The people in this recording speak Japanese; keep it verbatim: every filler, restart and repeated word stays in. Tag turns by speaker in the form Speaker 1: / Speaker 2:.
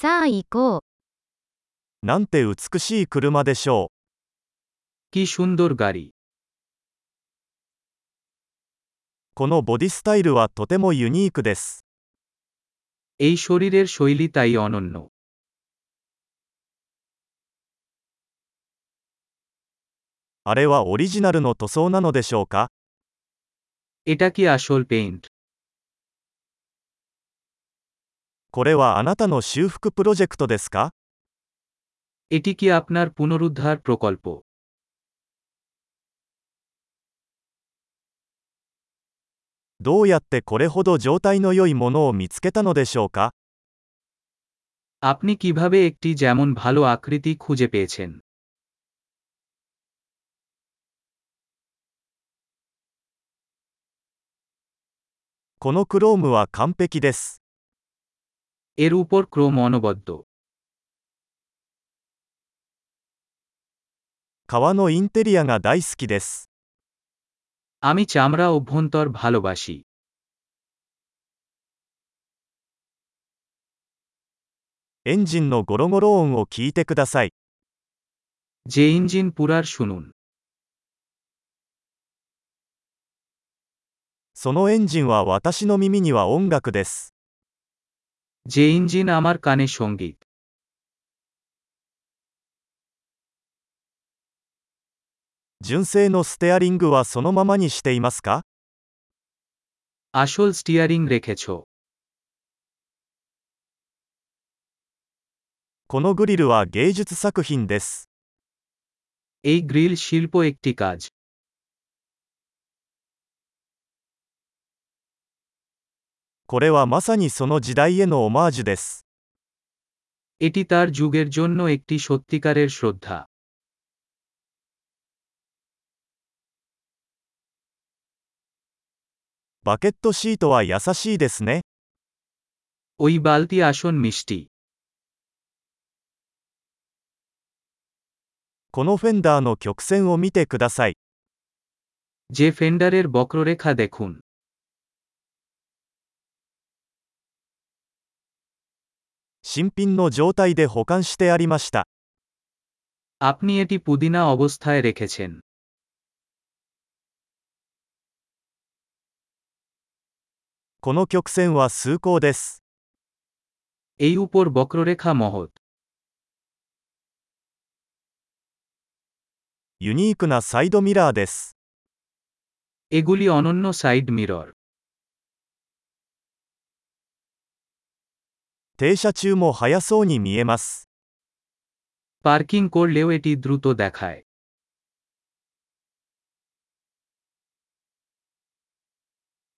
Speaker 1: さあ行こう。
Speaker 2: なんて美しい車でしょ
Speaker 3: কি সুন্দর গাড়ি।
Speaker 2: う。このボディスタイルはとてもユニークです。
Speaker 3: এই শরীরের শৈলী তাই অনন্য।
Speaker 2: あれはオリジナルの塗装なのでしょうか？
Speaker 3: এটা কি আসল পেইন্ট?
Speaker 2: これはあなたの修復プロジェクトですか？
Speaker 3: এটি কি আপনার পুনরুদ্ধার প্রকল্প?
Speaker 2: どうやってこれほど状態の良いものを見つけたのでしょうか？
Speaker 3: আপনি কিভাবে একটি যেমন ভালো আকৃতি খুঁজে পেয়েছেন?
Speaker 2: このクロームは完璧です。
Speaker 3: এর উপর ক্রোম অনবদ্য।
Speaker 2: 革のインテリアが大好きです。
Speaker 3: আমি চামড়া অভ্যন্তর ভালোবাসি।
Speaker 2: エンジンのゴロゴロ音を聞いてください。
Speaker 3: যে ইঞ্জিন পুরার শুনুন।
Speaker 2: そのエンジンは私の耳には音楽です。
Speaker 3: যে ইঞ্জিন আমার কানে সঙ্গীত।
Speaker 2: 純正のステアリングはそのままにしていますか？
Speaker 3: আসল স্টিয়ারিং রেখেছ?
Speaker 2: このグリルは芸術作品です。
Speaker 3: এই গ্রিল শিল্প একটি কাজ।
Speaker 2: これはまさにその時代へのオマージュです。
Speaker 3: এটি তার যুগের জন্য একটি সত্যিকারের শ্রদ্ধা।
Speaker 2: バケットシートは優しいですね。
Speaker 3: ওই বালতি আসন মিষ্টি।
Speaker 2: このフェンダーの曲線を見てください。
Speaker 3: যে ফেন্ডারের বক্ররেখা দেখুন।
Speaker 2: 新品の状態で保管してありました。
Speaker 3: আপনি এটি পুদিনা অবস্থায় রেখেছেন।
Speaker 2: この曲線は崇高です。
Speaker 3: এই উপর বক্ররেখা মহৎ।
Speaker 2: ユニークなサイドミラーです。
Speaker 3: এগুলি অনন্য সাইড মিরর।
Speaker 2: 停車中も速そうに見えます。
Speaker 3: পার্কিং করলেও এটি দ্রুত দেখায়।